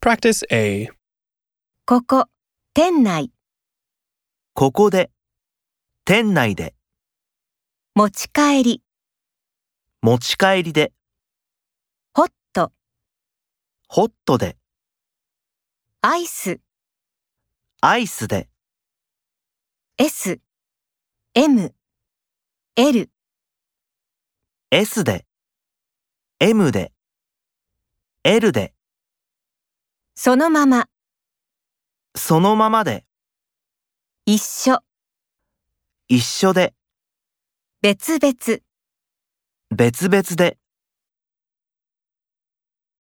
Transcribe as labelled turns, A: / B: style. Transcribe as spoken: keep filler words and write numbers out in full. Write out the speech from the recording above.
A: Practice A.
B: ここ、店内、
C: ここで、店内で、
B: 持ち帰り、
C: 持ち帰りで、
B: ホット、
C: ホットで、
B: アイス、
C: アイスで、
B: S、M、L、
C: S で、M で、L で、
B: そのまま、
C: そのままで、
B: 一緒、
C: 一緒で、
B: 別々。
C: 別々で、